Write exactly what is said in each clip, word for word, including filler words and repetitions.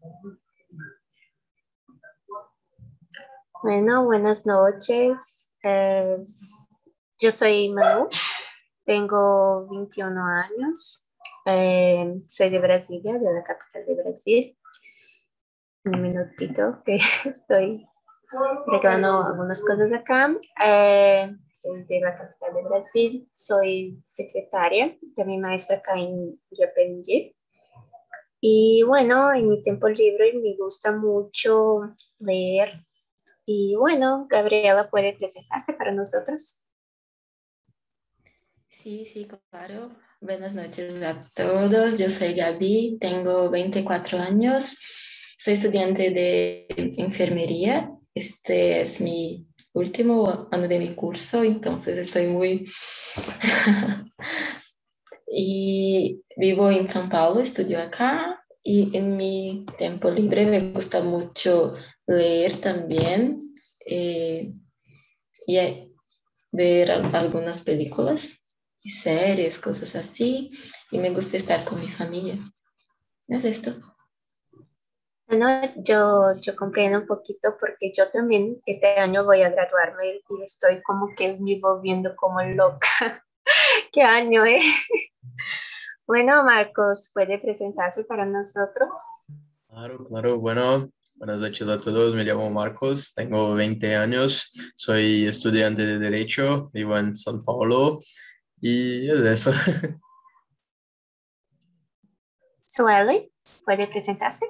Bueno, buenas noches. Eh, yo soy Manu, tengo veintiún años, eh, soy de Brasilia, de la capital de Brasil. Un minutito que estoy arreglando algunas cosas acá. Eh, soy de la capital de Brasil, soy secretaria de mi maestra acá en Yapeyú. Y bueno, en mi tiempo libre me gusta mucho leer. Y bueno, Gabriela puede presentarse para nosotros. Sí, sí, claro. Buenas noches a todos. Yo soy Gaby, tengo veinticuatro años, soy estudiante de enfermería. Este es mi último año de mi curso, entonces estoy muy... Y vivo en São Paulo, estudio acá y en mi tiempo libre me gusta mucho leer también eh, y eh, ver al- algunas películas y series, cosas así, y me gusta estar con mi familia. Es esto. Bueno, yo, yo comprendo un poquito porque yo también este año voy a graduarme y estoy como que me volviendo como loca. ¿Qué año, eh? Bueno, Marcos, ¿puede presentarse para nosotros? Claro, claro. Bueno, buenas noches a todos. Me llamo Marcos, tengo veinte años, soy estudiante de Derecho, vivo en São Paulo y es eso. Sueli, ¿puede presentarse?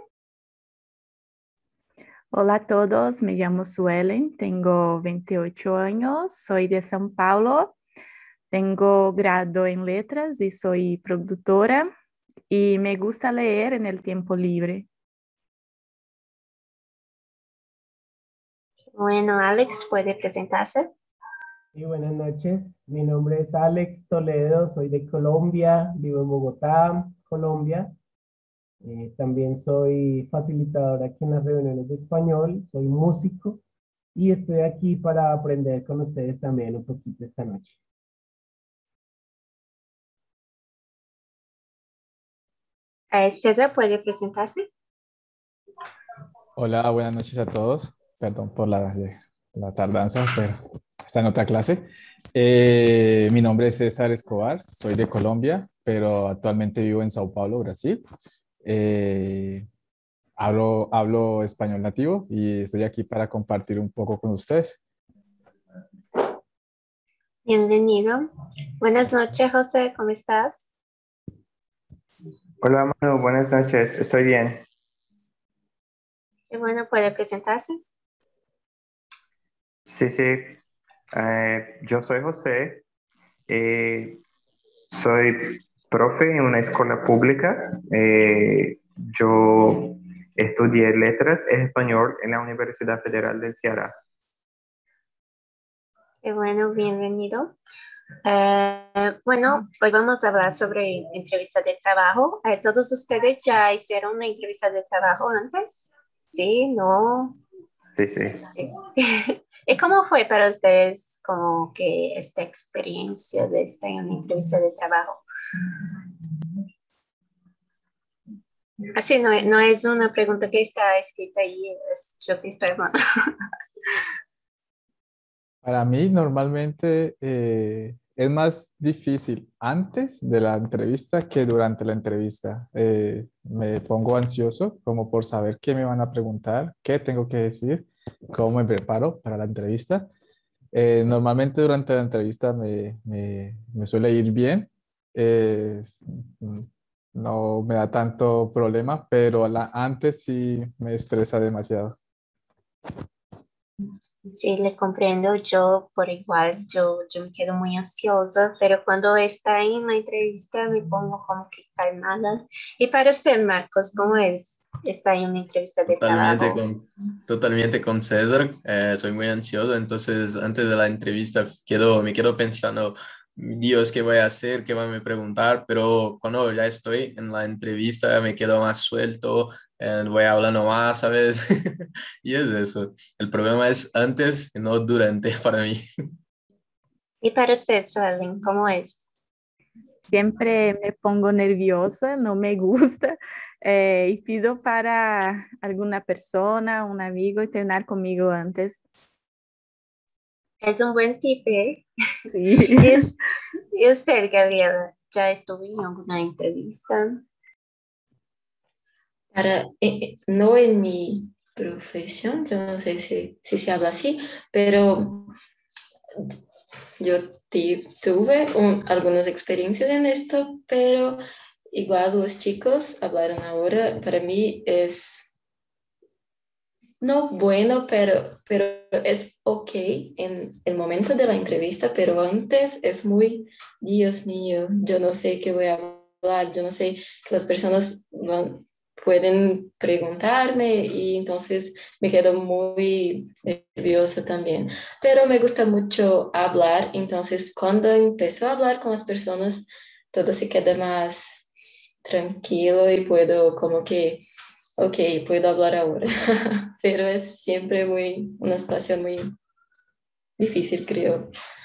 Hola a todos, me llamo Suelen, tengo veintiocho años, soy de São Paulo, tengo grado en letras y soy productora y me gusta leer en el tiempo libre. Bueno, Alex, ¿puede presentarse? Y buenas noches, mi nombre es Alex Toledo, soy de Colombia, vivo en Bogotá, Colombia. Eh, también soy facilitador aquí en las reuniones de español, soy músico y estoy aquí para aprender con ustedes también un poquito esta noche. Eh, César, ¿puede presentarse? Hola, buenas noches a todos. Perdón por la, la tardanza, pero está en otra clase. Eh, mi nombre es César Escobar, soy de Colombia, pero actualmente vivo en Sao Paulo, Brasil. Eh, hablo, hablo español nativo y estoy aquí para compartir un poco con ustedes. Bienvenido. Buenas noches, José, ¿cómo estás? Hola Manu, buenas noches, estoy bien. Qué bueno, ¿puede presentarse? Sí, sí, eh, yo soy José, eh, soy profe en una escuela pública. Eh, yo estudié letras en español en la Universidad Federal del Ceará. Qué bueno, bienvenido. Eh, bueno, hoy vamos a hablar sobre entrevistas de trabajo. Eh, ¿todos ustedes ya hicieron una entrevista de trabajo antes? Sí, no. Sí, sí. Sí. ¿Y cómo fue para ustedes como que esta experiencia de estar en una entrevista de trabajo? Así no, no es una pregunta que está escrita ahí, es yo que estoy hablando. Para mí, normalmente eh, es más difícil antes de la entrevista que durante la entrevista. Eh, me pongo ansioso como por saber qué me van a preguntar, qué tengo que decir, cómo me preparo para la entrevista. Eh, normalmente durante la entrevista me, me, me suele ir bien. Eh, no me da tanto problema, pero la, antes sí me estresa demasiado. Sí, le comprendo, yo por igual, yo, yo me quedo muy ansiosa, pero cuando está en la entrevista me pongo como que calmada. Y para usted, Marcos, ¿cómo es estar en una entrevista de Totalmente trabajo? con, totalmente con César, eh, soy muy ansioso, entonces antes de la entrevista quedo, me quedo pensando, Dios, ¿qué voy a hacer? ¿Qué van a preguntar? Pero cuando ya estoy en la entrevista me quedo más suelto, eh, voy hablando más, ¿sabes? Y es eso. El problema es antes y no durante para mí. Y para usted, Suelen, ¿cómo es? Siempre me pongo nerviosa, no me gusta. eh, y pido para alguna persona, un amigo, entrenar conmigo antes. Es un buen tip, ¿eh? Sí. ¿Y, us- y usted, Gabriela, ya estuvo en alguna entrevista? Para, eh, no en mi profesión, yo no sé si, si se habla así, pero yo ti- tuve un- algunas experiencias en esto, pero igual los chicos hablaron ahora, para mí es no bueno, pero, pero es ok en el momento de la entrevista, pero antes es muy, Dios mío, yo no sé qué voy a hablar, yo no sé que las personas van- pueden preguntarme y entonces me quedo muy nerviosa también. Pero me gusta mucho hablar, entonces cuando empiezo a hablar con las personas, todo se queda más tranquilo y puedo como que ok, puedo hablar ahora, pero es siempre muy, una situación muy difícil, creo.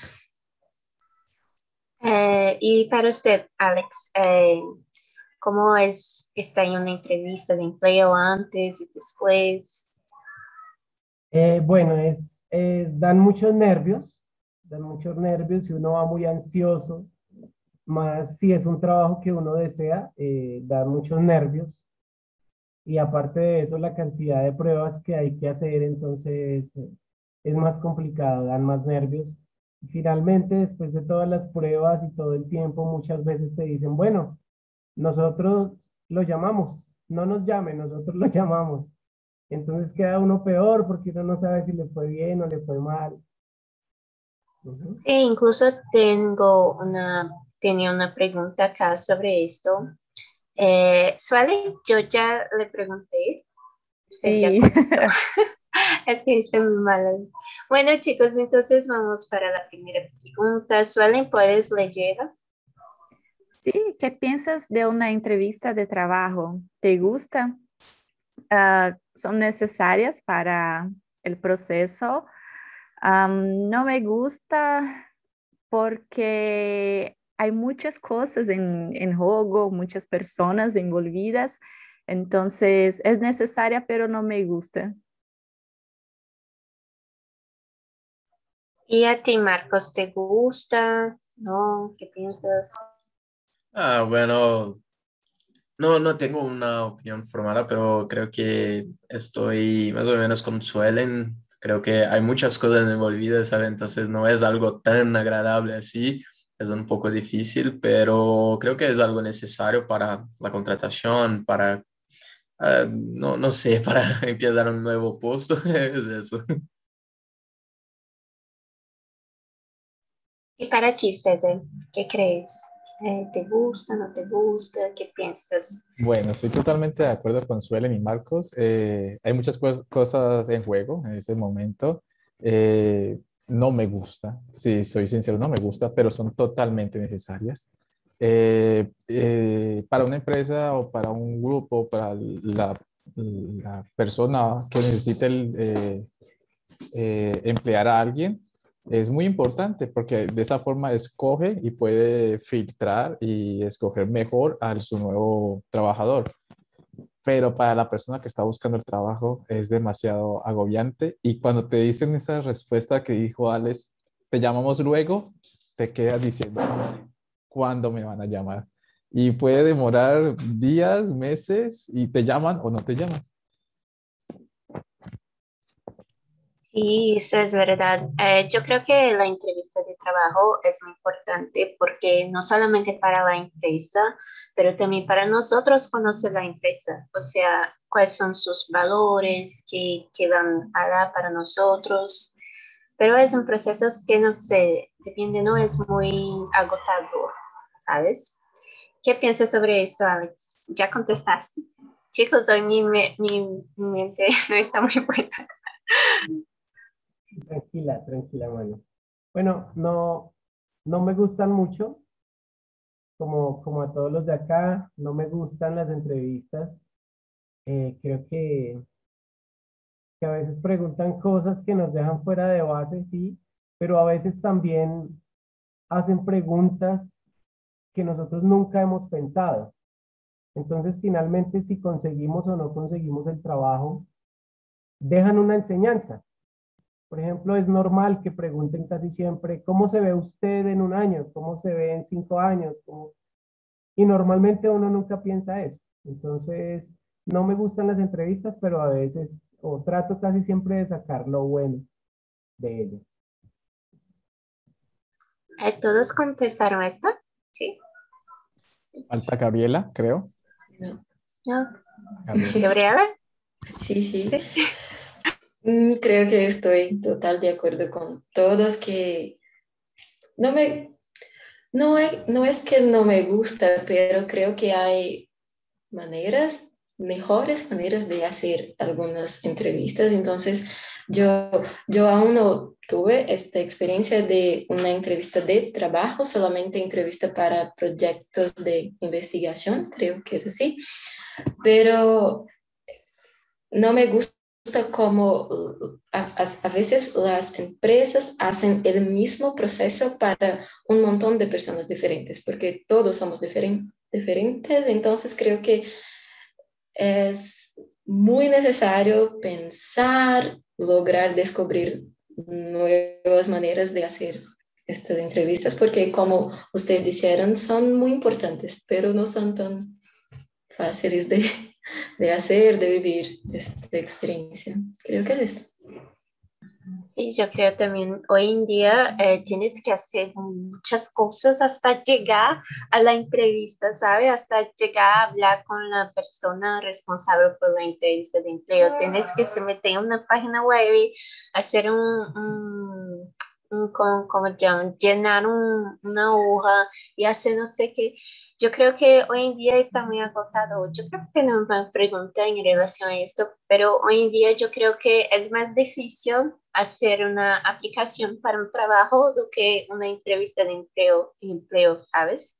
Eh, y para usted, Alex, eh, ¿cómo es estar en una entrevista de empleo antes y después? Eh, bueno, es, es- dan muchos nervios, dan muchos nervios y uno va muy ansioso, más si es un trabajo que uno desea, eh, da muchos nervios. Y aparte de eso, la cantidad de pruebas que hay que hacer, entonces eh, es más complicado, dan más nervios. Y finalmente, después de todas las pruebas y todo el tiempo, muchas veces te dicen, bueno, nosotros lo llamamos, no nos llame, nosotros lo llamamos. Entonces queda uno peor porque uno no sabe si le fue bien o le fue mal. Ujú. Sí, incluso tengo una, tenía una pregunta acá sobre esto. Eh, Suele, yo ya le pregunté, usted ya Sí. contestó. Es que estoy muy mala. Bueno, chicos, entonces vamos para la primera pregunta. Suelen, ¿puedes leer? Sí, ¿qué piensas de una entrevista de trabajo? ¿Te gusta? Ah, ¿son necesarias para el proceso? Am, no me gusta porque hay muchas cosas en, en juego, muchas personas envolvidas, entonces es necesaria, pero no me gusta. ¿Y a ti, Marcos, te gusta? ¿No? ¿Qué piensas? Ah, bueno, no, no tengo una opinión formada, pero creo que estoy más o menos con Suelen. Creo que hay muchas cosas envolvidas, ¿sabes? Entonces no es algo tan agradable así. Es un poco difícil, pero creo que es algo necesario para la contratación, para, ah, no, no sé, para empezar un nuevo puesto. Es eso. ¿Y para ti, César, qué crees? Eh, ¿te gusta, no te gusta? ¿Qué piensas? Bueno, estoy totalmente de acuerdo con Suelen y Marcos. Eh, hay muchas cos- cosas en juego en ese momento. Eh, no me gusta, si soy sincero, no me gusta, pero son totalmente necesarias. Eh, eh, para una empresa o para un grupo, para la, la persona que necesite el, eh, eh, emplear a alguien, es muy importante porque de esa forma escoge y puede filtrar y escoger mejor a su nuevo trabajador. Pero para la persona que está buscando el trabajo es demasiado agobiante y cuando te dicen esa respuesta que dijo Alex, te llamamos luego, te quedas diciendo, ¿cuándo me van a llamar? Y puede demorar días, meses y te llaman o no te llaman. Sí, eso es verdad. Eh, yo creo que la entrevista de trabajo es muy importante porque no solamente para la empresa, pero también para nosotros conocer la empresa, o sea, cuáles son sus valores, qué, qué van a dar para nosotros. Pero es un proceso que no sé, depende, no es muy agotador, ¿sabes? ¿Qué piensas sobre esto, Alex? ¿Ya contestaste? Chicos, hoy mi, me- mi, mi mente no está muy buena. Tranquila, tranquila, mano. Bueno, no, no me gustan mucho, como, como a todos los de acá, no me gustan las entrevistas. Eh, creo que, que a veces preguntan cosas que nos dejan fuera de base, sí, pero a veces también hacen preguntas que nosotros nunca hemos pensado. Entonces, finalmente, si conseguimos o no conseguimos el trabajo, dejan una enseñanza. Por ejemplo, es normal que pregunten casi siempre, ¿cómo se ve usted en un año? ¿Cómo se ve en cinco años? ¿Cómo? Y normalmente uno nunca piensa eso. Entonces, no me gustan las entrevistas, pero a veces, o trato casi siempre de sacar lo bueno de ellas. Eh, ¿Todos contestaron esto? Sí. Falta Gabriela, creo. No. No. Gabriela. ¿Gabriela? Sí, sí. Mm, Creo que estoy total de acuerdo con todos que no me, no es, no es que no me gusta, pero creo que hay maneras, mejores maneras de hacer algunas entrevistas. Entonces, yo, yo aún no tuve esta experiencia de una entrevista de trabajo, solamente entrevista para proyectos de investigación, creo que es así, pero no me gusta como a, a, a veces las empresas hacen el mismo proceso para un montón de personas diferentes, porque todos somos diferen, diferentes, entonces creo que es muy necesario pensar, lograr descubrir nuevas maneras de hacer estas entrevistas, porque como ustedes dijeron, son muy importantes, pero no son tan fáciles de, de hacer, de vivir esta experiencia. Creo que es esto. Sí, yo creo también, hoy en día eh, tienes que hacer muchas cosas hasta llegar a la entrevista, ¿sabes? Hasta llegar a hablar con la persona responsable por la entrevista de empleo. Tienes que se meter en una página web, hacer un, un, un ¿cómo, cómo llaman? Llenar un, una hoja y hacer no sé qué. Yo creo que hoy en día está muy agotado. Yo creo que no me pregunta en relación a esto, pero hoy en día yo creo que es más difícil hacer una aplicación para un trabajo do que una entrevista de empleo, empleo, ¿sabes?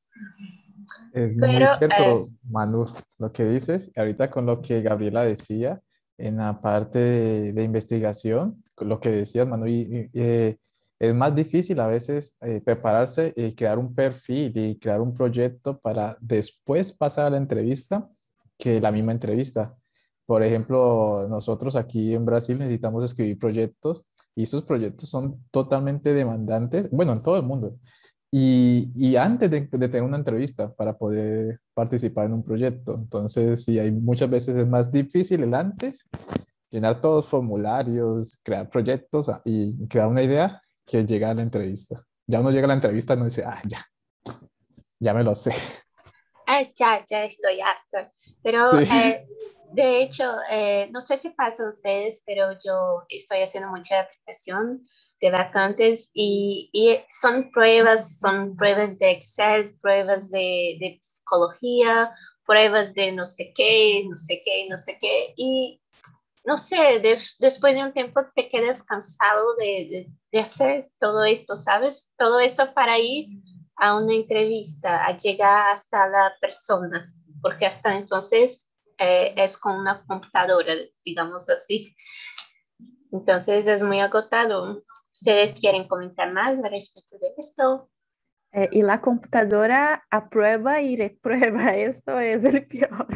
Es muy Pero eh, cierto, Manu, lo que dices. Ahorita con lo que Gabriela decía en la parte de, de investigación, con lo que decías, Manu, y, y, eh, es más difícil a veces eh, prepararse y crear un perfil y crear un proyecto para después pasar a la entrevista que la misma entrevista. Por ejemplo, nosotros aquí en Brasil necesitamos escribir proyectos y esos proyectos son totalmente demandantes, bueno, en todo el mundo. Y, y antes de, de tener una entrevista para poder participar en un proyecto. Entonces, sí, hay muchas veces es más difícil el antes, llenar todos los formularios, crear proyectos ah, y crear una idea que llegar a la entrevista. Ya uno llega a la entrevista y uno dice, ah, ya, ya me lo sé. eh, ya, ya estoy harta. Pero Sí, eh, de hecho, eh, no sé si pasa a ustedes, pero yo estoy haciendo mucha aplicación de vacantes y, y son pruebas, son pruebas de Excel, pruebas de, de psicología, pruebas de no sé qué, no sé qué, no sé qué. Y no sé, de- después de un tiempo te quedas cansado de, de, de hacer todo esto, ¿sabes? Todo esto para ir a una entrevista, a llegar hasta la persona, porque hasta entonces eh, es con una computadora, digamos así. Entonces es muy agotado. ¿Ustedes quieren comentar más al respecto de esto? Eh, y la computadora aprueba y reprueba. Esto es el peor.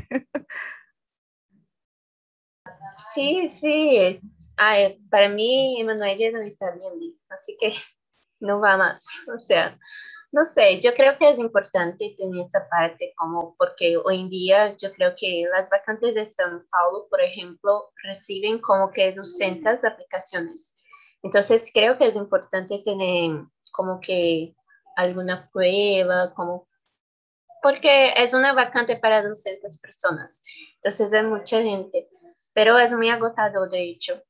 Sí, sí. Ay, para mí, Emanuel ya no está bien, así que no va más. O sea, no sé, yo creo que es importante tener esta parte como porque hoy en día yo creo que las vacantes de São Paulo, por ejemplo, reciben como que doscientas aplicaciones. Entonces creo que es importante tener como que alguna prueba, como porque es una vacante para doscientas personas. Entonces es mucha gente, pero es muy agotador de hecho.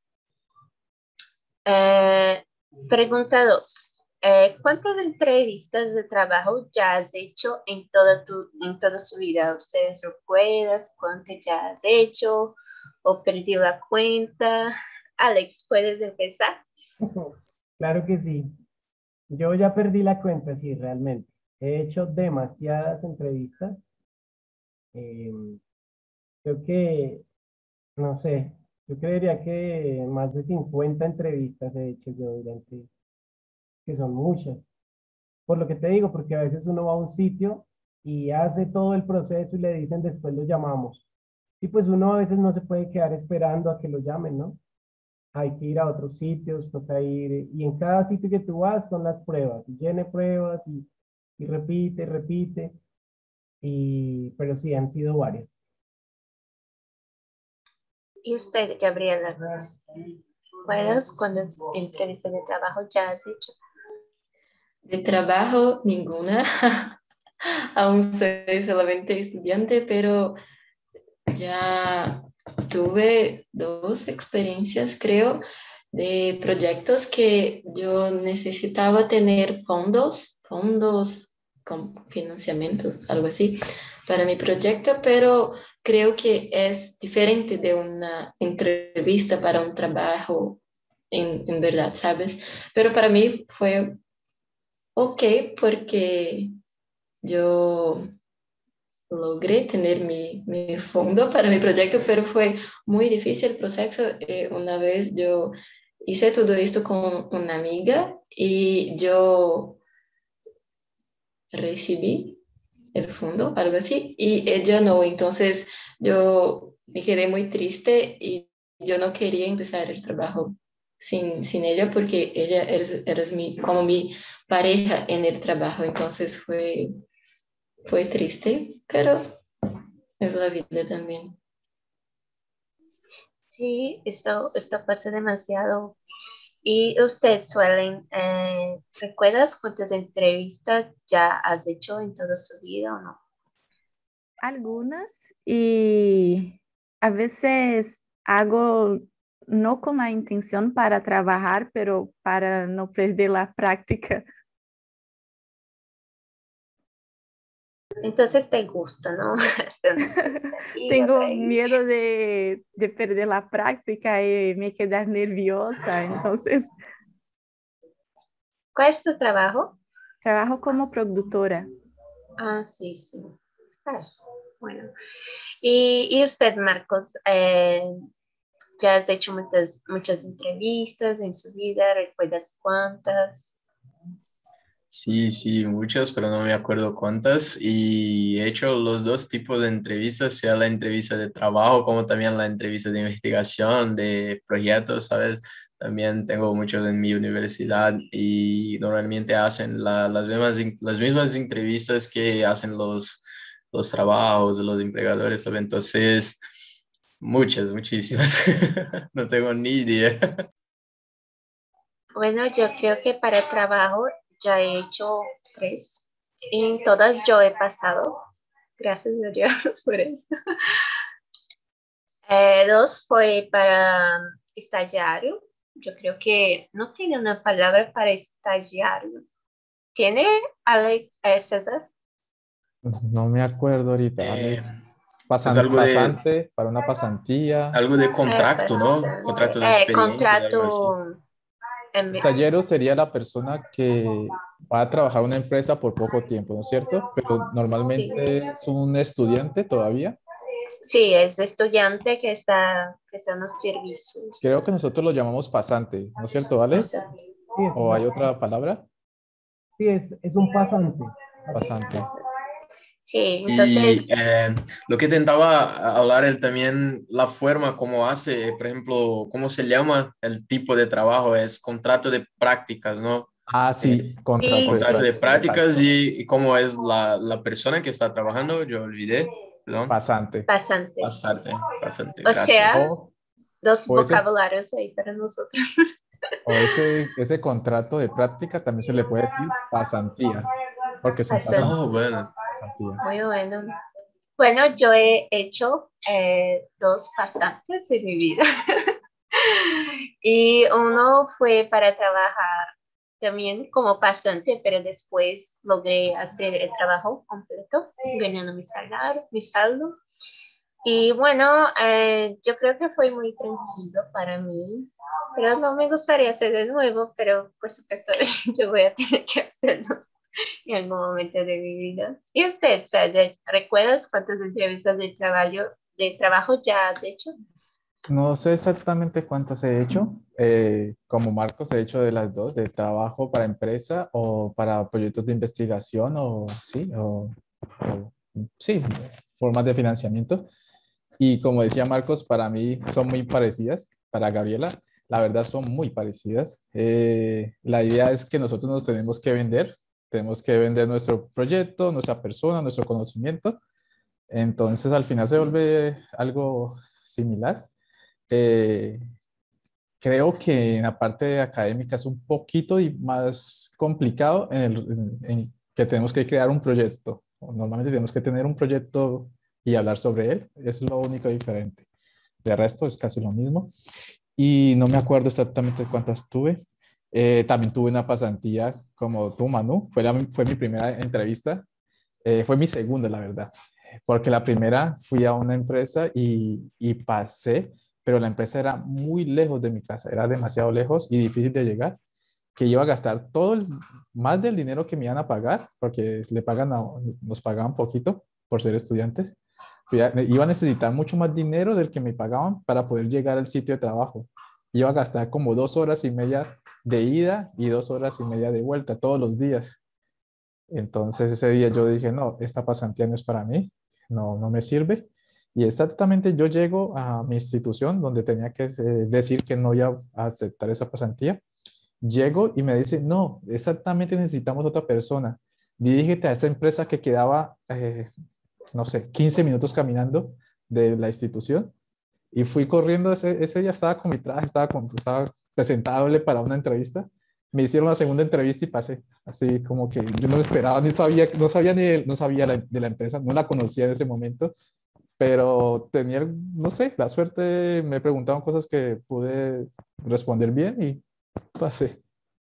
Eh, pregunta dos. Eh, ¿cuántas entrevistas de trabajo ya has hecho en toda tu, en toda su vida? ¿Ustedes recuerdas cuántas ya has hecho o perdí la cuenta? Alex, ¿puedes empezar? Claro que sí. Yo ya perdí la cuenta, sí, realmente. He hecho demasiadas entrevistas. Eh, Creo que, no sé, yo creería que más de cincuenta entrevistas he hecho yo durante, que son muchas. Por lo que te digo, porque a veces uno va a un sitio y hace todo el proceso y le dicen después lo llamamos. Y pues uno a veces no se puede quedar esperando a que lo llamen, ¿no? Hay que ir a otros sitios, toca ir, y en cada sitio que tú vas son las pruebas, y llene pruebas y, y repite, repite, y, pero sí, han sido varias. ¿Y usted, Gabriela? ¿Recuerdas cuántas entrevistas de trabajo ya has hecho? De trabajo, ninguna. Aún soy solamente estudiante, pero ya tuve dos experiencias, creo, de proyectos que yo necesitaba tener fondos, fondos con financiamientos, algo así, para mi proyecto, pero creo que es diferente de una entrevista para un trabajo en, en verdad, ¿sabes? Pero para mí fue ok porque yo logré tener mi, mi fondo para mi proyecto, pero fue muy difícil el proceso. Eh, una vez yo hice todo esto con una amiga y yo recibí el fondo, algo así, y ella no. Entonces yo me quedé muy triste y yo no quería empezar el trabajo sin, sin ella porque ella era, era mi, como mi pareja en el trabajo. Entonces fue, fue triste, pero es la vida también. Sí, esto, esto pasa demasiado. ¿Y usted, Suelen, eh, recuerdas cuántas entrevistas ya has hecho en toda su vida o no? Algunas, y a veces hago no con la intención para trabajar, pero para no perder la práctica. Entonces te gusta, ¿no? Hacer una entrevista aquí, otra Tengo ahí. miedo de, de perder la práctica y me quedar nerviosa, entonces ¿Cuál es tu trabajo? trabajo como productora. Ah, sí, sí. Ah, bueno. Y, y usted, Marcos, eh, ya has hecho muchas, muchas entrevistas en su vida, ¿recuerdas cuántas? Sí, sí, muchas, pero no me acuerdo cuántas. Y he hecho los dos tipos de entrevistas, sea la entrevista de trabajo como también la entrevista de investigación, de proyectos, ¿sabes? También tengo muchos en mi universidad y normalmente hacen la- las mismas, las mismas entrevistas que hacen los, los trabajos, los empleadores, ¿sabes? Entonces, muchas, muchísimas. No tengo ni idea. Bueno, yo creo que para el trabajo ya he hecho tres. En todas yo he pasado. Gracias a Dios por eso. Eh, dos fue para estagiario. Yo creo que no tiene una palabra para estagiario. ¿Tiene, Ale, eh, César? No me acuerdo ahorita, tal Eh, vez es pasan- algo de, pasante para una pasantía. algo de Eh, contrato, ¿no? pasante. Contrato de Eh, experiencia, de algo así. contrato. em, Estallero sería la persona que va a trabajar en una empresa por poco tiempo, ¿no es cierto? Pero sí. normalmente es un estudiante todavía. Sí, es estudiante que está, que está en los servicios. Creo que nosotros lo llamamos pasante, ¿no es cierto, Alex? Pasante. Sí, es, ¿O hay otra palabra? sí, es, es un pasante. Pasante. Sí, Y entonces, eh, lo que intentaba hablar él también, la forma como hace, por ejemplo, cómo se llama el tipo de trabajo, es contrato de prácticas, ¿no? Ah, sí, Es contrato sí, de contrato sí, de práctica, sí. prácticas exacto. y, y cómo es la, la persona que está trabajando, yo olvidé, perdón, Pasante. Pasante. pasarte, pasante, O gracias. sea, O, dos o ese, vocabularios ahí para nosotros. o ese, ese contrato de práctica también se le puede decir pasantía, porque es un Pasante. pasante, Oh, bueno. pasantía. Muy bueno. Bueno, yo he hecho eh, dos pasantes en mi vida. Y uno fue para trabajar también como pasante, pero después logré hacer el trabajo completo, ganando mi salario, mi saldo. Y bueno, eh, yo creo que fue muy tranquilo para mí, pero no me gustaría hacer de nuevo, pero por supuesto yo voy a tener que hacerlo en algún momento de mi vida. ¿Y usted, Sade, recuerdas cuántas entrevistas de trabajo, de trabajo ya has hecho? No sé exactamente cuántas he hecho. Eh, como Marcos, he hecho de las dos, de trabajo para empresa o para proyectos de investigación o sí, o o, sí, formas de financiamiento. Y como decía Marcos, para mí son muy parecidas. Para Gabriela, la verdad son muy parecidas. Eh, la idea es que nosotros nos tenemos que vender, tenemos que vender nuestro proyecto, nuestra persona, nuestro conocimiento. Entonces al final se vuelve algo similar. Eh, Creo que en la parte académica es un poquito y más complicado en, el, en, en que tenemos que crear un proyecto. Normalmente tenemos que tener un proyecto y hablar sobre él. Es lo único diferente. De resto es casi lo mismo. Y no me acuerdo exactamente cuántas tuve. Eh, también tuve una pasantía como tú, Manu. Fue, la, fue mi primera entrevista. Eh, fue mi segunda, la verdad. Porque la primera fui a una empresa y, y pasé, pero la empresa era muy lejos de mi casa. Era demasiado lejos y difícil de llegar, que iba a gastar todo el, más del dinero que me iban a pagar, porque le pagan a- nos pagaban poquito por ser estudiantes. Iba iba a necesitar mucho más dinero del que me pagaban para poder llegar al sitio de trabajo. Iba a gastar como dos horas y media de ida y dos horas y media de vuelta todos los días. Entonces ese día yo dije, no, esta pasantía no es para mí, no, no me sirve. Y exactamente yo llego a mi institución donde tenía que eh, decir que no iba a aceptar esa pasantía. Llego y me dice, no, exactamente necesitamos otra persona. Dirígete a esta empresa que quedaba, eh, no sé, quince minutos caminando de la institución. Y fui corriendo, ese, ese día estaba con mi traje, estaba, con, estaba presentable para una entrevista. Me hicieron la segunda entrevista y pasé. Así como que yo no lo esperaba, ni sabía, no sabía ni de, no sabía la, de la empresa, no la conocía en ese momento, pero tenía, no sé, la suerte, me preguntaban cosas que pude responder bien y pasé.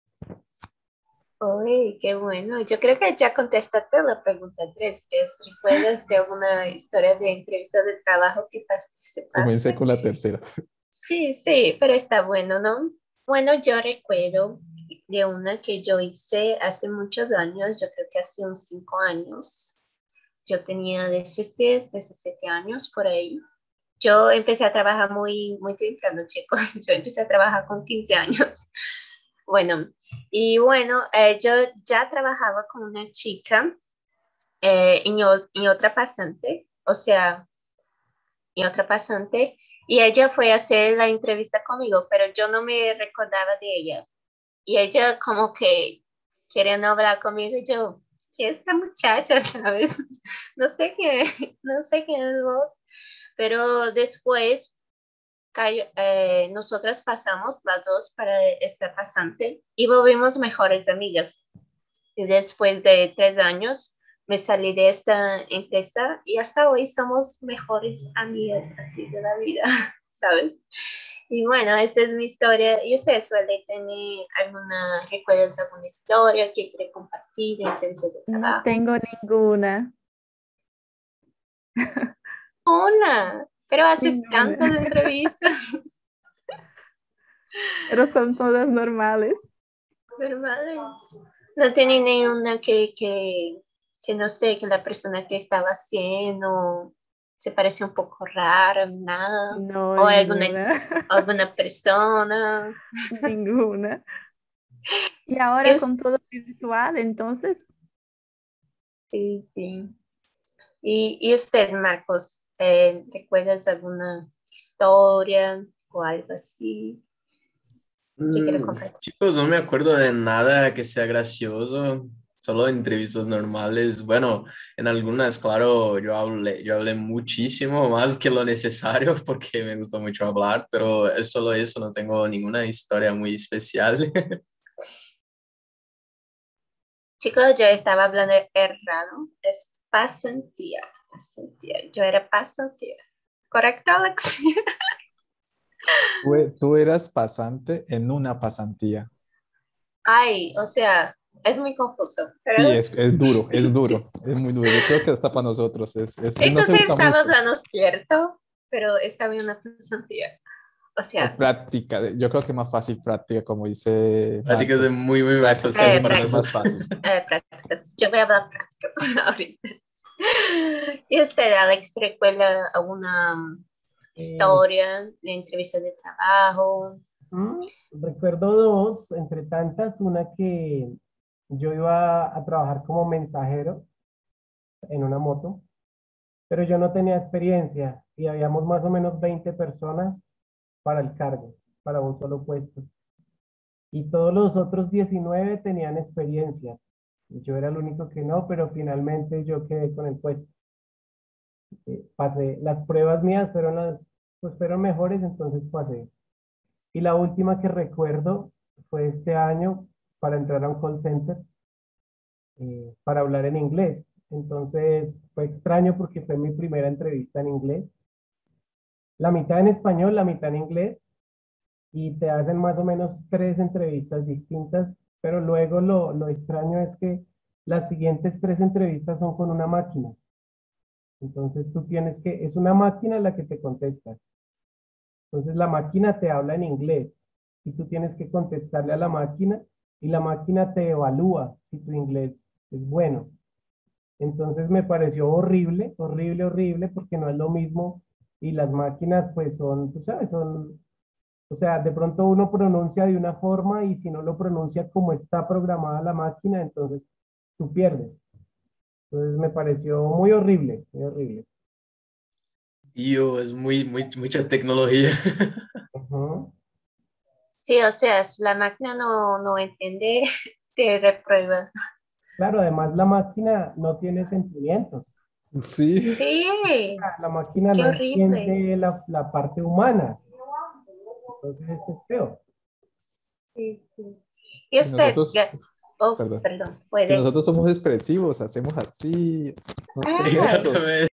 Uy, qué bueno. Yo creo que ya contestaste la pregunta tres, que es, ¿recuerdas de alguna historia de entrevista de trabajo que Comencé participaste? con la tercera. Sí, sí, pero está bueno, ¿no? Bueno, yo recuerdo de una que yo hice hace muchos años, yo creo que hace unos cinco años. Yo tenía dieciséis, diecisiete años por ahí. Yo empecé a trabajar muy, muy temprano, chicos. Yo empecé a trabajar con quince años. Bueno, y bueno, eh, yo ya trabajaba con una chica eh, en, o- en otra pasante, o sea, en otra pasante, y ella fue a hacer la entrevista conmigo, pero yo no me recordaba de ella. Y ella como que querían hablar conmigo y yo, ¿qué es esta muchacha, sabes? No sé qué, no sé quién es vos, pero después cayó- eh, nosotras pasamos las dos para esta pasante y volvimos mejores amigas. Y después de tres años me salí de esta empresa y hasta hoy somos mejores amigas así de la vida, ¿sabes? Y bueno, esta es mi historia. ¿Y usted suele tener alguna, recuerdas alguna historia que quiere compartir de entrevista de No trabajo? tengo ninguna, Una, pero haces ninguna, tantas entrevistas pero son todas normales. normales. No tiene ninguna que, que, que no sé, que la persona que estaba haciendo se parece un poco rara, nada. No, O alguna, ninguna, alguna persona. ninguna. Y Y ahora us- con todo virtual, entonces, sí, sí. Y, y usted, Marcos, eh, ¿recuerdas alguna historia o algo así que quieras Mm, compartir? chicos, no me acuerdo de nada que sea gracioso, solo entrevistas normales. Bueno, en algunas, claro, yo hablé, yo hablé muchísimo, más que lo necesario, porque me gusta mucho hablar, pero es solo eso, no tengo ninguna historia muy especial. Chicos, yo estaba hablando errado. Es pasantía. Pasantía. Yo era pasantía. ¿Correcto, Alex? Tú, e- tú eras pasante en una pasantía. Ay, o sea, es muy confuso, Sí, pero es, es duro, es duro, es muy duro. Yo creo que hasta para nosotros es, es- no se entonces usa estaba mucho. hablando cierto, pero estaba en una pasantía. O O sea, práctica, yo creo que más fácil práctica, como dice Prácticas Marcos. es muy, muy más Práctica es fácil eh, para mucho más nosotros. prácticas. fácil. Eh, prácticas. Yo voy a hablar prácticas ahorita. ¿Y usted, Alex, recuerda alguna um, Eh, historia de entrevista de trabajo? mm, recuerdo dos, entre tantas, una que yo iba a trabajar como mensajero en una moto, pero yo no tenía experiencia y habíamos más o menos veinte personas para el cargo, para un solo puesto. Y todos los otros diecinueve tenían experiencia. Y yo era el único que no, pero finalmente yo quedé con el puesto. Eh, pasé, las pruebas mías fueron las, pues fueron mejores, entonces pasé. Y la última que recuerdo fue este año para entrar a un call center, eh, para hablar en inglés. Entonces fue extraño porque fue mi primera entrevista en inglés. La mitad en español, la mitad en inglés. Y te hacen más o menos tres entrevistas distintas, pero luego lo, lo extraño es que las siguientes tres entrevistas son con una máquina. Entonces tú tienes que, es una máquina la que te contesta. Entonces la máquina te habla en inglés y tú tienes que contestarle a la máquina y la máquina te evalúa si tu inglés es bueno. Entonces me pareció horrible, horrible, horrible, porque no es lo mismo y las máquinas pues son, tú sabes, son, o sea, de pronto uno pronuncia de una forma y si no lo pronuncia como está programada la máquina, entonces tú pierdes. Entonces me pareció muy horrible, muy horrible. Tío, es muy, muy, mucha tecnología. Ujú. Sí, o sea, si la máquina no, no entiende, te reprueba. Claro, además la máquina no tiene sentimientos. Sí, Sí, La máquina qué no horrible. entiende la, la parte humana. Entonces eso es feo. Sí, sí. Y y usted, nosotros, Ga- oh, perdón, perdón, que puede. nosotros somos expresivos, hacemos así, no sé, Ah, gestos. Exactamente.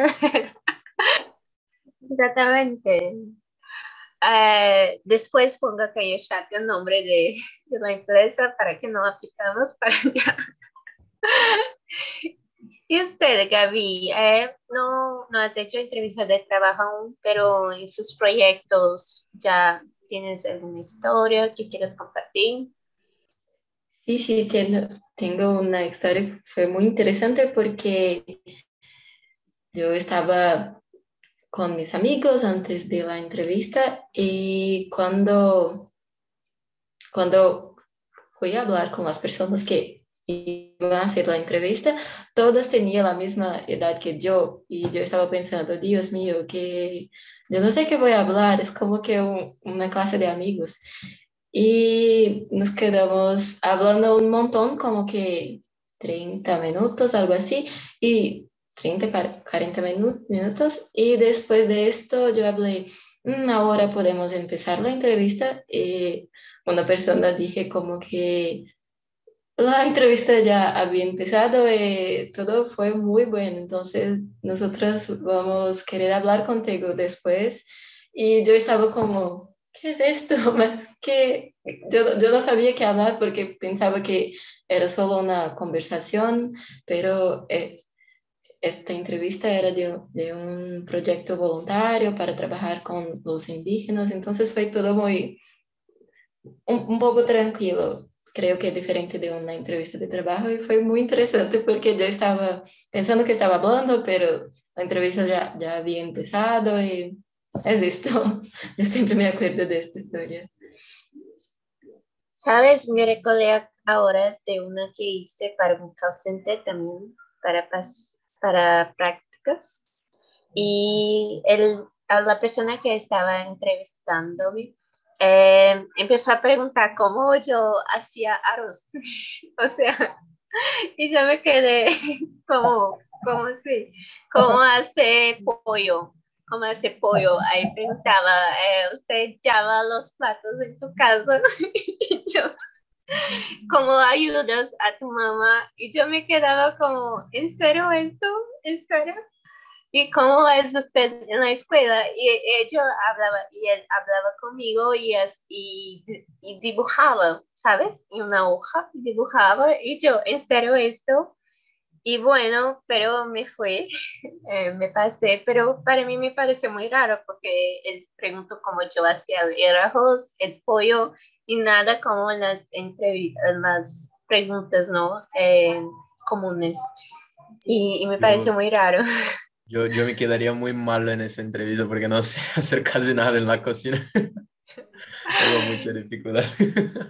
exactamente. Eh, después ponga que yo saque el nombre de, de la empresa para que no aplicamos para allá. Y usted, Gaby, eh, no, no has hecho entrevista de trabajo aún, pero en sus proyectos ya tienes alguna historia que quieras compartir. Sí, sí, tengo, tengo una historia, fue muy interesante porque yo estaba con mis amigos antes de la entrevista y cuando, cuando fui a hablar con las personas que iban a hacer la entrevista, todas tenían la misma edad que yo y yo estaba pensando, Dios mío, que yo no sé qué voy a hablar, es como que un- una clase de amigos. Y nos quedamos hablando un montón, como que treinta minutos, algo así, y treinta cuar- cuarenta minu- minutos. Y después de esto yo hablé, "Mm, ahora podemos empezar la entrevista". Y una persona dije como que la entrevista ya había empezado y todo fue muy bueno. Entonces nosotros vamos a querer hablar contigo después. Y yo estaba como, ¿qué es esto? Más que yo, yo no sabía qué hablar porque pensaba que era solo una conversación, pero eh, esta entrevista era de, de un proyecto voluntario para trabajar con los indígenas. Entonces fue todo muy un, un poco tranquilo. Creo que es diferente de una entrevista de trabajo y fue muy interesante porque yo estaba pensando que estaba hablando, pero la entrevista ya, ya había empezado y es esto. Yo siempre me acuerdo de esta historia. ¿Sabes? Me recordé ahora de una que hice para un call center también, para, pas- para prácticas. Y el, a la persona que estaba entrevistándome eh, empezó a preguntar cómo yo hacía arroz. O sea, y yo me quedé como, ¿cómo así? ¿Cómo hace pollo? ¿Cómo hace pollo? Ahí preguntaba, eh, ¿usted llama los platos en tu casa? Y yo, ¿cómo ayudas a tu mamá? Y yo me quedaba como, ¿en serio esto? ¿En serio? ¿Y cómo es usted en la escuela? Y ella hablaba, y él hablaba conmigo y, es, y, y dibujaba, ¿sabes? En una hoja dibujaba y yo, ¿en serio esto? Y bueno, pero me fue, eh, me pasé, pero para mí me pareció muy raro porque él preguntó cómo yo hacía el arroz, el pollo y nada como las, entrevistas, las preguntas, ¿no? Eh, comunes. Y, y me pareció Yo, muy raro. yo, yo me quedaría muy malo en esa entrevista porque no sé hacer casi nada en la cocina. Tengo mucha dificultad.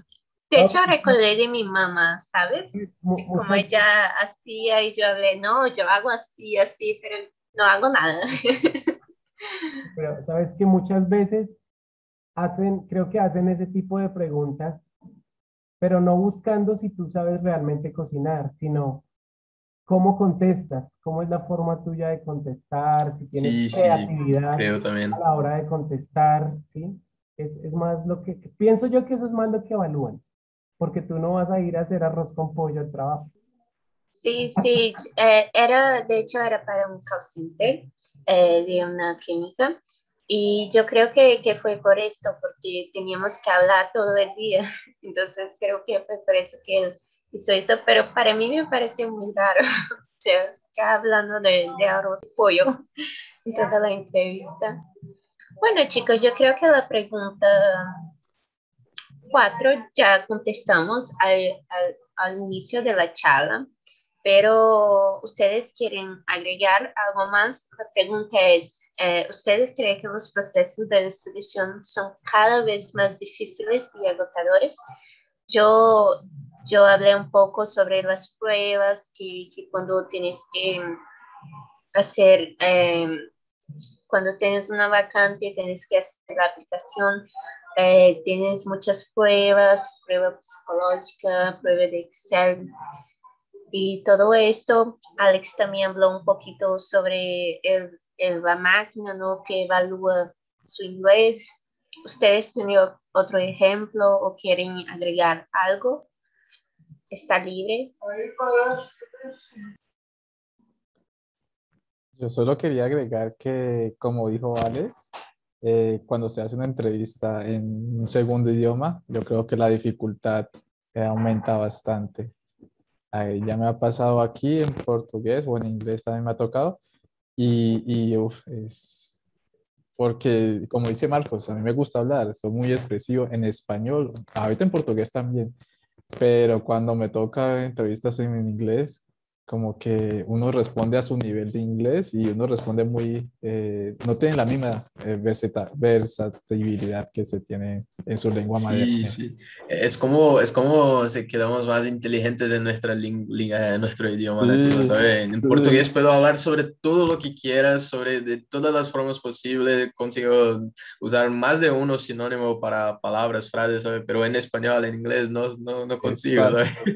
De No, hecho, recordé de mi mamá, ¿sabes? mu- De Como muchas, ella hacía y yo hablé, no, yo hago así, así, pero no hago nada. pero sabes que muchas veces hacen, creo que hacen ese tipo de preguntas, pero no buscando si tú sabes realmente cocinar, sino cómo contestas, cómo es la forma tuya de contestar, si tienes Sí, sí, creatividad creo a también. la hora de contestar, ¿sí? Es, es más lo que, pienso yo que eso es más lo que evalúan, porque tú no vas a ir a hacer arroz con pollo al trabajo. Sí, sí, eh, era, de hecho, era para un call center eh, de una clínica y yo creo que, que fue por esto, porque teníamos que hablar todo el día, entonces creo que fue por eso que él hizo esto, pero para mí me pareció muy raro, o sea, ya hablando de, de arroz y pollo en toda la entrevista. Bueno, chicos, yo creo que la pregunta cuatro ya contestamos al, al, al inicio de la charla, pero ustedes quieren agregar algo más. La pregunta es, eh, ¿ustedes creen que los procesos de selección son cada vez más difíciles y agotadores? Yo, yo hablé un poco sobre las pruebas que, que cuando tienes que hacer, eh, cuando tienes una vacante, tienes que hacer la aplicación, eh, tienes muchas pruebas, prueba psicológica, prueba de Excel y todo esto. Alex también habló un poquito sobre el, el, la máquina, ¿no? Que evalúa su inglés. ¿Ustedes tienen otro ejemplo o quieren agregar algo? ¿Está libre? Yo solo quería agregar que, como dijo Alex, eh, cuando se hace una entrevista en un segundo idioma, yo creo que la dificultad eh, aumenta bastante. Ahí ya me ha pasado aquí en portugués o en inglés también me ha tocado. Y, y uf, es porque, como dice Marcos, a mí me gusta hablar, soy muy expresivo en español, ahorita en portugués también, pero cuando me toca entrevistas en inglés, como que uno responde a su nivel de inglés y uno responde muy, eh, no tiene la misma eh, versata- versatilidad que se tiene en su lengua Sí, materna. sí. Es como, es como si quedamos más inteligentes en nuestra ling- ling- en nuestro idioma nativo, Sí, ¿sabes? En sí, portugués puedo hablar sobre todo lo que quieras, sobre de todas las formas posibles, consigo usar más de uno sinónimo para palabras, frases, ¿sabes? Pero en español, en inglés, no, no, no consigo, ¿sabes? exacto.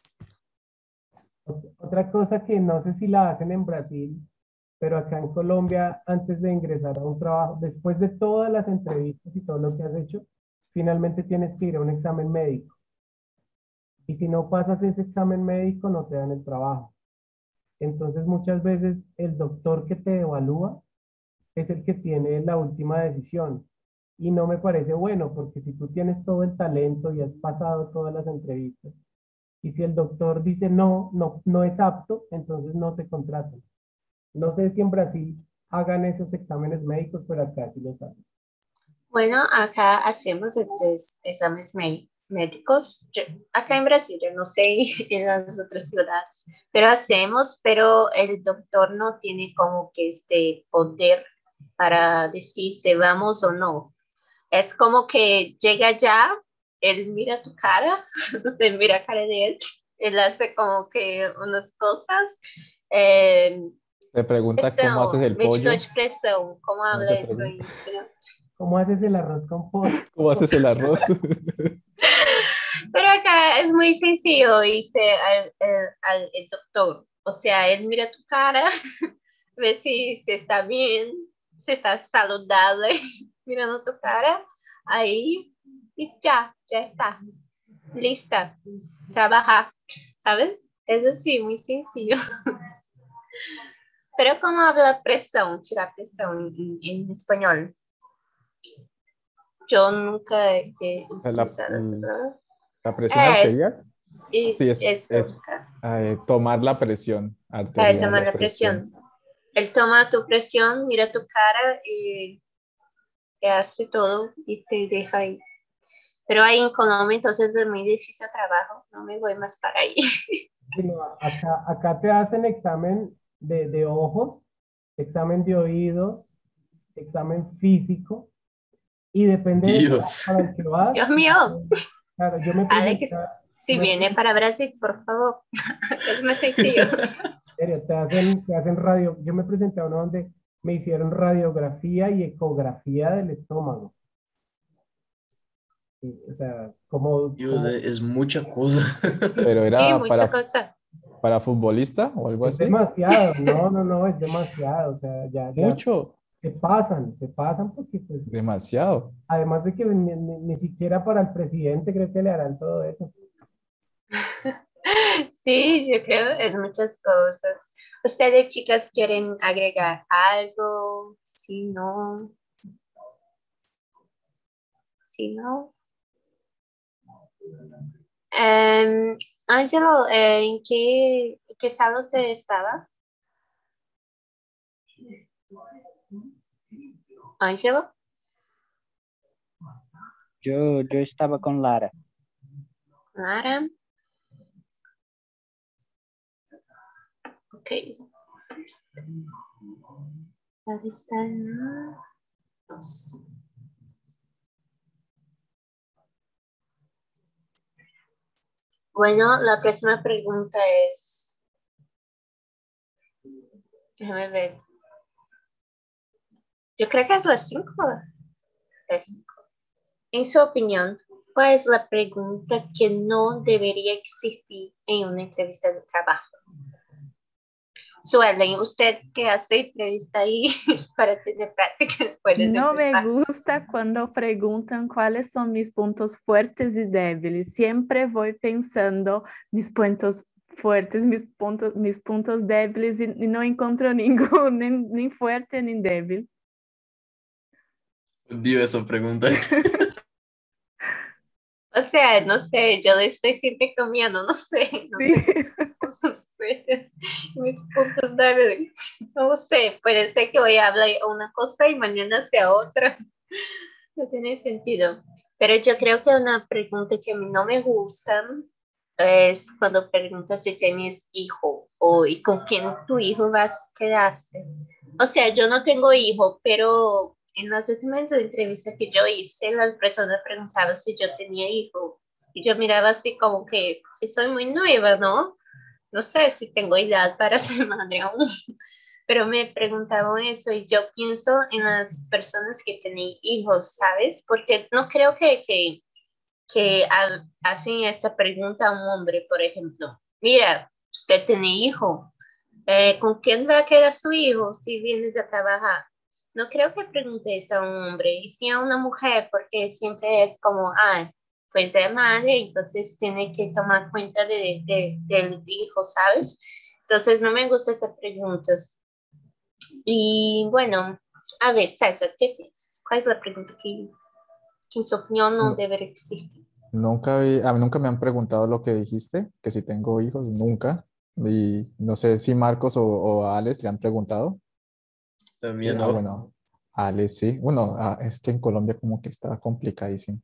Ot- Otra cosa que no sé si la hacen en Brasil, pero acá en Colombia, antes de ingresar a un trabajo, después de todas las entrevistas y todo lo que has hecho, finalmente tienes que ir a un examen médico. Y si no pasas ese examen médico, no te dan el trabajo. Entonces, muchas veces el doctor que te evalúa es el que tiene la última decisión. Y no me parece bueno, porque si tú tienes todo el talento y has pasado todas las entrevistas, y si el doctor dice no, no, no es apto, entonces no te contratan. No sé si en Brasil hagan esos exámenes médicos, pero acá sí los hacen. Bueno, acá hacemos estos exámenes mé- médicos. Yo- acá en Brasil, yo no sé en las otras ciudades, pero hacemos, pero el doctor no tiene como que este poder para decir si vamos o no. Es como que llega ya, él mira tu cara, usted mira la cara de él, él hace como que unas cosas. Eh, Te pregunta cómo haces pressão, el medidor pollo, de pressão, como no te habla isso pregunta em espanhol? ¿Cómo haces el arroz con pollo? cómo haces el arroz. Pero acá es muy sencillo, dice al, al, al el doctor. O sea, él mira tu cara, ve si, si está bien, si está saludable, mirando tu cara, ahí y ya, ya está, lista, trabajar, ¿sabes? Es así, muy sencillo. Pero ¿cómo habla presión, tirar presión en, en español? Yo nunca he La, utilizado esa palabra. la presión Es, arterial, y sí, es, eso, es eh, tomar la presión para arterial, tomar la la presión. presión. Él toma tu presión, mira tu cara y te hace todo y te deja ahí. Pero ahí en Colombia entonces es muy difícil el trabajo, no me voy más para ahí. Bueno, acá, acá te hacen examen de, de ojos, examen de oídos, examen físico, y depende del lugar Dios. para el que vas, Dios mío. Claro, yo me Alex, presentaba, si me viene para Brasil, por favor, es más sencillo. serio, te hacen, te hacen radio. Yo me presenté a uno donde me hicieron radiografía y ecografía del estómago. Sí, o sea, como, Dios, como es, es mucha cosa. Pero Sí, era para, muchas cosas. para futbolista o algo es así. demasiado, no, no, no, es demasiado. O sea, ya, ya Mucho, se pasan, se pasan porque pues, demasiado. además de que ni, ni- ni siquiera para el presidente creo que le harán todo eso. Sí, yo creo es muchas cosas. ¿Ustedes, chicas, quieren agregar algo? Si no, si no. Em, Ángelo, eh, ¿en qué, qué sala usted estaba? Ángelo, Yo, yo estaba con Lara. Lara, ok. Lara está en la dos. Bueno, la próxima pregunta es, déjame ver, yo creo que es las cinco. Es- En su opinión, ¿cuál es la pregunta que no debería existir en una entrevista de trabajo? Suelen, usted que hace entrevista ahí para tener práctica, puedes No me empezar. gusta cuando preguntan cuáles son mis puntos fuertes y débiles. Siempre voy pensando mis puntos fuertes, mis puntos, mis puntos débiles y, y no encuentro ninguno, ni, ni fuerte ni débil. Odio esa pregunta. O sea, no sé, yo le estoy siempre comiendo, no sé, no Sí. tengo mis puntos fuertes, mis puntos débiles, no lo sé, puede ser que hoy hable una cosa y mañana sea otra, no tiene sentido. Pero yo creo que una pregunta que a mí no me gusta es cuando preguntas si tienes hijo o y con quién tu hijo vas a quedarse. O sea, yo no tengo hijo, pero en las últimas entrevistas que yo hice, las personas preguntaban si yo tenía hijo. Y yo miraba así como que, que soy muy nueva, ¿no? No sé si tengo edad para ser madre aún, pero me preguntaban eso y yo pienso en las personas que tienen hijos, ¿sabes? Porque no creo que, que, que ha- hacen esta pregunta a un hombre, por ejemplo. Mira, usted tiene hijo, eh, ¿con quién va a quedar su hijo si vienes a trabajar? No creo que pregunte esto a un hombre, y sí a una mujer, porque siempre es como, ah, pues es madre, entonces tiene que tomar cuenta de, de- del hijo, ¿sabes? Entonces no me gustan esas preguntas. Y bueno, a ver, César, ¿qué piensas? ¿Cuál es la pregunta que, que en su opinión no No, debería existir? nunca vi- a mí nunca me han preguntado lo que dijiste, que si tengo hijos, nunca. Y no sé si Marcos o, o a Alex le han preguntado. Sí, También ah, no. bueno, Alex sí. Bueno, ah, es que en Colombia como que está complicadísimo.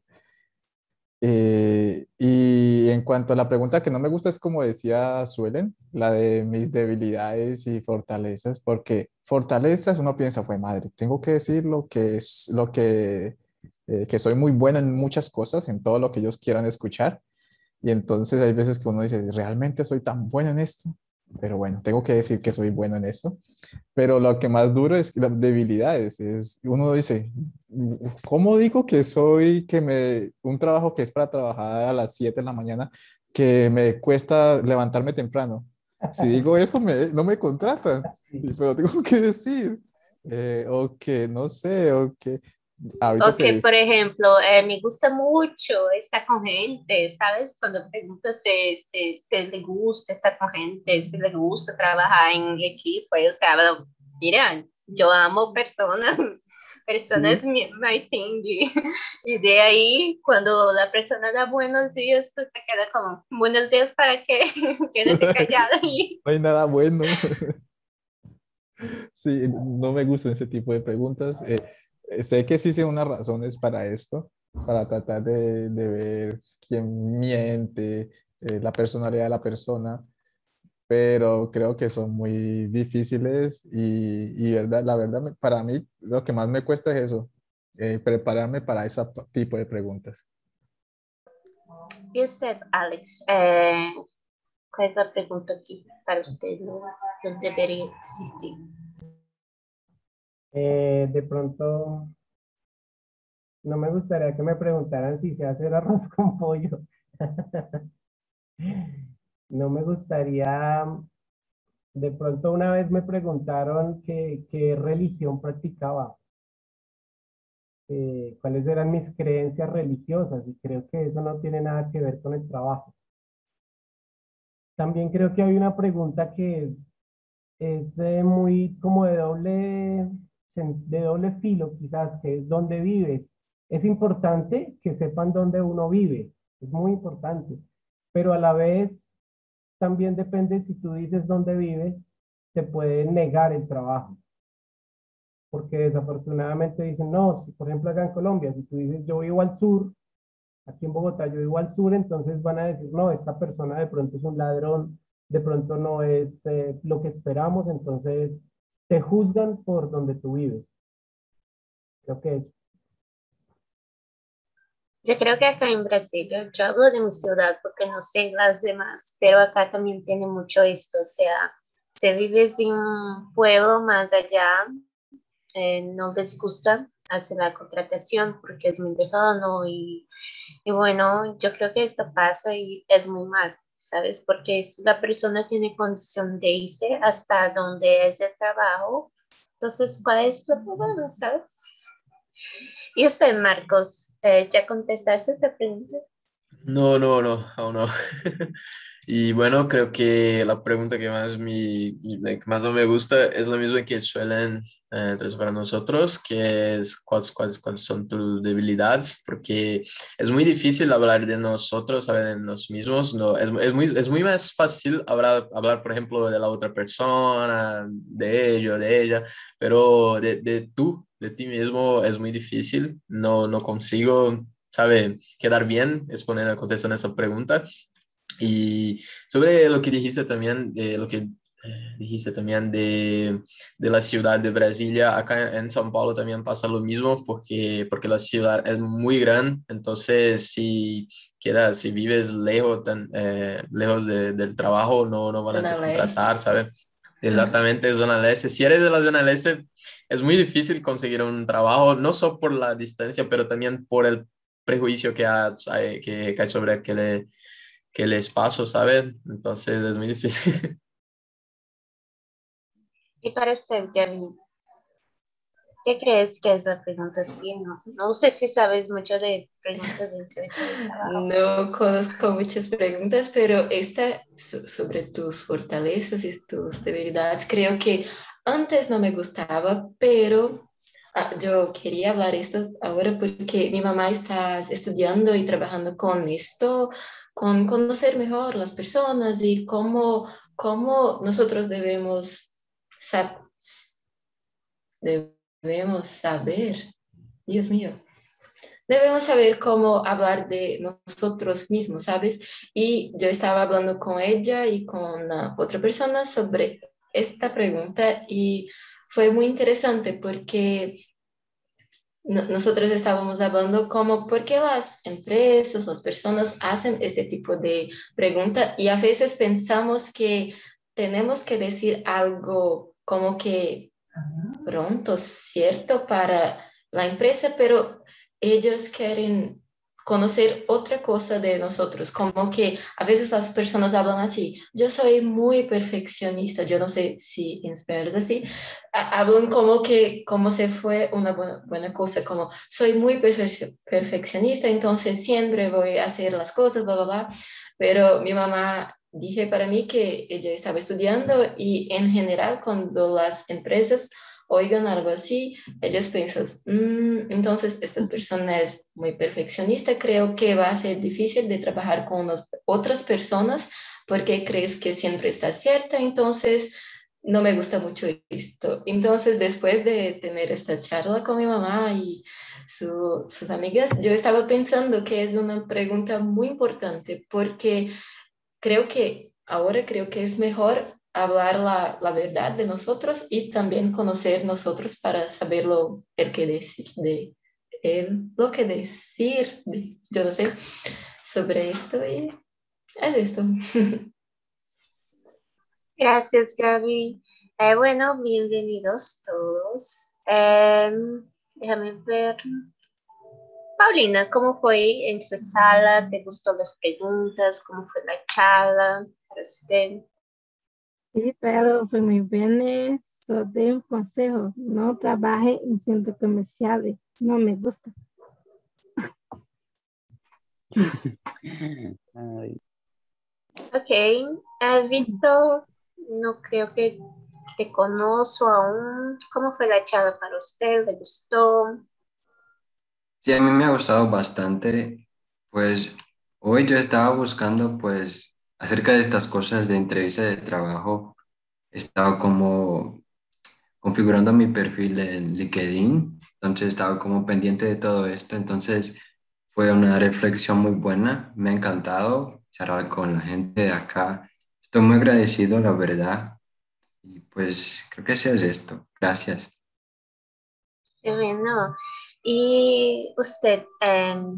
Eh, y en cuanto a la pregunta que no me gusta es como decía Suelen, la de mis debilidades y fortalezas, porque fortalezas uno piensa, fue madre, tengo que decir lo que es lo que, eh, que soy muy bueno en muchas cosas, en todo lo que ellos quieran escuchar. Y entonces hay veces que uno dice, ¿realmente soy tan bueno en esto? Pero bueno, tengo que decir que soy bueno en esto. Pero lo que más duro es las debilidades. Es, uno dice, ¿cómo digo que soy, que me, un trabajo que es para trabajar a las siete de la mañana, que me cuesta levantarme temprano? Si digo esto, me, no me contratan, Sí. pero tengo que decir, eh, o que no sé, o que ahorita O te que, dice, por ejemplo, eh, me gusta mucho estar con gente, ¿sabes? Cuando pregunto si, si, si le gusta estar con gente, si le gusta trabajar en equipo, o sea, bueno, mira, yo amo personas, personas sí, mi- my thing, y, y de ahí, cuando la persona da buenos días, tú te quedas como, buenos días, ¿para qué? Quédate callada y no hay nada bueno. Sí, no me gustan ese tipo de preguntas. Eh, eh, sé que existen unas razones para esto, para tratar de, de ver quién miente, eh, la personalidad de la persona, pero creo que son muy difíciles y, y verdad, la verdad, me- para mí lo que más me cuesta es eso, eh, prepararme para ese tipo de preguntas. E usted, Alex, eh, qual é a pergunta que para usted não, não deveria existir? Eh, de pronto, no me gustaría que me preguntaran si sé hacer arroz con pollo. No me gustaría, de pronto una vez me preguntaron qué, qué religión practicaba, eh, cuáles eran mis creencias religiosas, y creo que eso no tiene nada que ver con el trabajo. También creo que hay una pregunta que es, es eh, muy como de doble, sen- de doble filo, quizás, que es ¿dónde vives? Es importante que sepan dónde uno vive, es muy importante, pero a la vez también depende si tú dices dónde vives, te pueden negar el trabajo, porque desafortunadamente dicen, no, si por ejemplo acá en Colombia, si tú dices yo vivo al sur, aquí en Bogotá yo vivo al sur, entonces van a decir, no, esta persona de pronto es un ladrón, de pronto no es eh, lo que esperamos, entonces te juzgan por donde tú vives. Creo que es. Yo creo que acá en Brasil, yo hablo de mi ciudad porque no sé las demás, pero acá también tiene mucho esto, o sea, si vives en un pueblo más allá, eh, no les gusta hacer la contratación porque es muy lejano y, y bueno, yo creo que esto pasa y es muy mal, ¿sabes? Porque si la persona tiene condición de irse hasta donde es el trabajo, entonces, ¿cuál es tu problema, sabes? Y usted, Marcos, eh, ¿ya contestaste esta pregunta? No, no, no, aún no. Y bueno, creo que la pregunta que más, mi, la que más no me gusta es la misma que suelen eh, traer para nosotros, que es cuáles, cuáles, cuáles son tus debilidades, porque es muy difícil hablar de nosotros, hablar de nosotros mismos, no, es, es, muy, es muy más fácil hablar, hablar, por ejemplo, de la otra persona, de ello, de ella, pero de, de tú, de ti mismo es muy difícil, no, no consigo, sabe, quedar bien exponiendo, contestando esta pregunta. Y sobre lo que dijiste también, eh, lo que eh, dijiste también de, de la ciudad de Brasilia, acá en São Paulo también pasa lo mismo porque, porque la ciudad es muy grande, entonces si quedas, si vives lejos, tan, eh, lejos de- del trabajo, no, no van a Zona te contratar, Leste. ¿sabes? Exactamente, zona leste. Si eres de la zona leste, es muy difícil conseguir un trabajo, no solo por la distancia, pero también por el prejuicio que hay, que, que hay sobre aquel que les paso, ¿sabes? Entonces es muy difícil. Y para usted, Gaby, ¿qué crees que es la pregunta así? No, no sé si sabes mucho de preguntas de entrevista de trabajo. No conozco muchas preguntas, pero esta so- sobre tus fortalezas y tus debilidades, creo que antes no me gustaba, pero ah, yo quería hablar esto ahora porque mi mamá está estudiando y trabajando con esto, con conocer mejor las personas y cómo, cómo nosotros debemos, sab- debemos saber, Dios mío. Debemos saber cómo hablar de nosotros mismos, ¿sabes? Y yo estaba hablando con ella y con uh, otra persona sobre esta pregunta y fue muy interesante porque no- nosotros estábamos hablando como por qué las empresas, las personas hacen este tipo de pregunta y a veces pensamos que tenemos que decir algo como que pronto, ¿cierto? Para la empresa, pero ellos quieren conocer otra cosa de nosotros, como que a veces las personas hablan así, yo soy muy perfeccionista, yo no sé si en español es así, ha- hablan como que como se fue una buena, buena cosa, como soy muy perfe- perfeccionista, entonces siempre voy a hacer las cosas, bla, bla, bla, pero mi mamá dije para mí que ella estaba estudiando y en general cuando las empresas oigan algo así, ellos piensan, "Mm, entonces esta persona es muy perfeccionista, creo que va a ser difícil de trabajar con unos- otras personas porque crees que siempre está cierta, entonces no me gusta mucho esto. Entonces, después de tener esta charla con mi mamá y su- sus amigas, yo estaba pensando que es una pregunta muy importante porque creo que ahora creo que es mejor hablar la, la verdad de nosotros y también conocer nosotros para saber lo, el que decir de el, lo que decir, de- yo no sé. sobre esto y es esto. Gracias, Gaby. Eh, bueno, bienvenidos todos. Em, déjame ver. Paulina, ¿cómo fue en su sala? ¿Te gustó las preguntas? ¿Cómo fue la charla para usted? Sí, claro, fue muy bien. eh, Só dei um consejo, não trabalhe em centro comercial, não me gusta. Ay, Ok. Eh, Víctor, no creo que te conozco aún. ¿Cómo fue la charla para usted? ¿Le gustó? Sí, a mí me ha gustado bastante. Pues hoy yo estaba buscando pues acerca de estas cosas de entrevista de trabajo. Estaba como configurando mi perfil en LinkedIn, entonces estaba como pendiente de todo esto. Entonces fue una reflexión muy buena. Me ha encantado charlar con la gente de acá. Estoy muy agradecido, la verdad. Y pues creo que eso es esto. Gracias. Qué bueno. Y usted, em,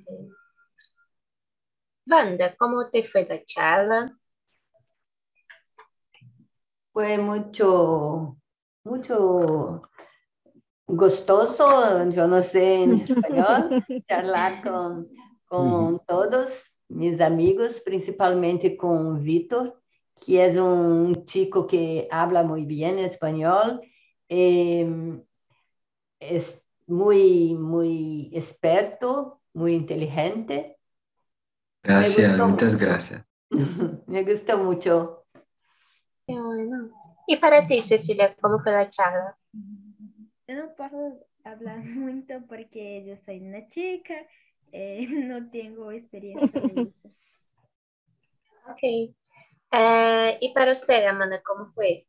Wanda, ¿cómo te fue la charla? Fue mucho, mucho gostoso, yo no sé en español, charlar con, con todos mis amigos, principalmente con Víctor, que es un chico que habla muy bien español, eh, es muy, muy experto, muy inteligente. Me Gracias, gustó muchas mucho. gracias. Me gustó mucho. Qué bueno. Y para ti, Cecilia, ¿cómo fue la charla? Eu não posso falar muito porque eu sou uma chica, eh, não tenho experiência de isso. Ok. Eh, y para usted, Amanda, ¿cómo fue?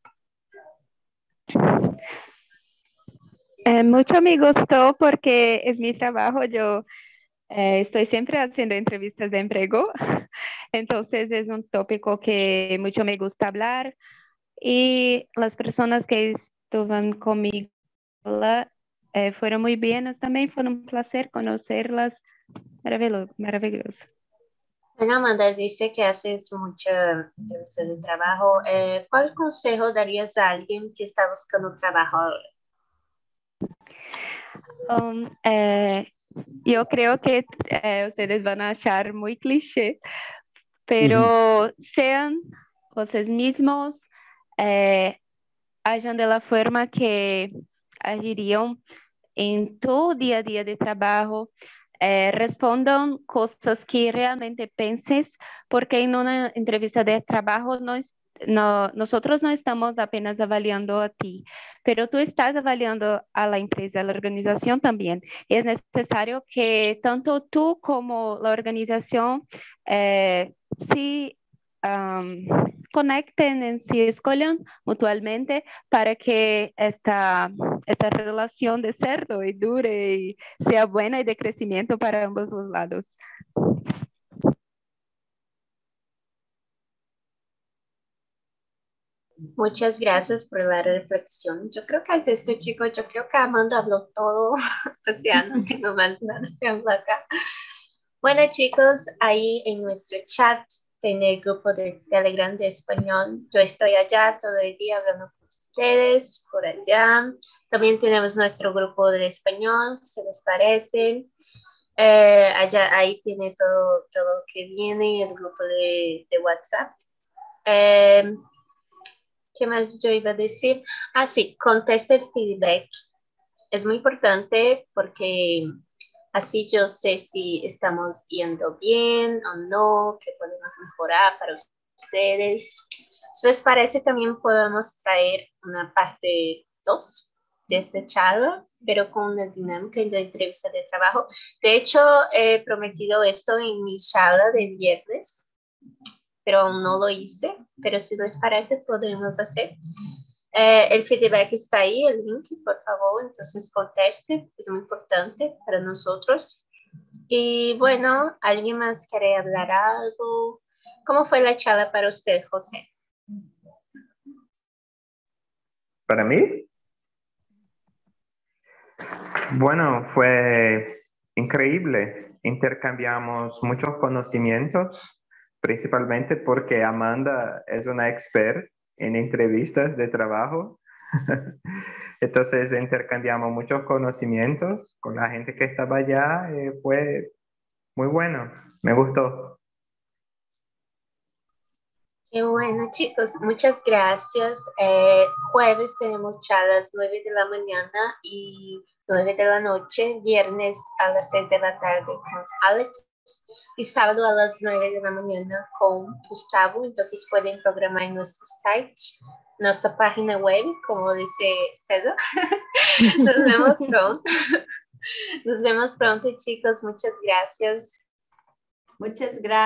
Eh, mucho me gustó porque es mi trabajo. Yo eh, estoy siempre haciendo entrevistas de empleo, entonces es un tópico que mucho me gusta hablar y las personas que estaban conmigo eh, fueron muy bienas también, fue un placer conocerlas, maravilloso. maravilloso. Bueno, Amanda dice que haces mucha entrevista de trabajo. Eh, ¿cuál consejo darías a alguien que está buscando trabajo ahora? Um, eh, yo creo que eh, ustedes van a achar muy cliché, pero sean ustedes mismos, eh, hagan de la forma que agirían en tu día a día de trabajo, eh, respondan cosas que realmente penses, porque en una entrevista de trabajo no es, no, nosotros no estamos apenas avaliando a ti, pero tú estás avaliando a la empresa, a la organización también. Es necesario que tanto tú como la organización eh, sí um, conecten en sí, escojan mutuamente para que esta, esta relación de cerdo y dure y sea buena y de crecimiento para ambos los lados. Muchas gracias por la reflexión. Yo creo que es esto, chicos. Yo creo que Amanda habló todo. O sea, no tengo más nada que hablar acá. Bueno, chicos, ahí en nuestro chat, en el grupo de Telegram de español, yo estoy allá todo el día hablando con ustedes, por allá. También tenemos nuestro grupo de español, ¿se les parece? Eh, allá, ahí tiene todo, todo lo que viene, el grupo de, de WhatsApp. Eh, ¿Qué más yo iba a decir? Ah, sí, conteste el feedback. Es muy importante porque así yo sé si estamos yendo bien o no, qué podemos mejorar para ustedes. Si les parece, también podemos traer una parte dos de esta charla, pero con una dinámica de entrevista de trabajo. De hecho, he prometido esto en mi charla de viernes, pero aún no lo hice, pero si les parece, podemos hacer. Eh, el feedback está ahí, el link, por favor, entonces conteste, es muy importante para nosotros. Y bueno, ¿alguien más quiere hablar algo? ¿Cómo fue la charla para usted, José? ¿Para mí? Bueno, fue increíble. Intercambiamos muchos conocimientos, principalmente porque Amanda es una experta en entrevistas de trabajo. Entonces intercambiamos muchos conocimientos con la gente que estaba allá. Eh, fue muy bueno, me gustó. Qué bueno, chicos, muchas gracias. Eh, jueves tenemos charlas nueve de la mañana y nueve de la noche, viernes a las seis de la tarde con Alex y sábado a las nueve de la mañana con Gustavo. Entonces pueden programar en nuestro site, nuestra página web, como dice César. Nos vemos pronto. Nos vemos pronto, chicos. Muchas gracias. Muchas gracias.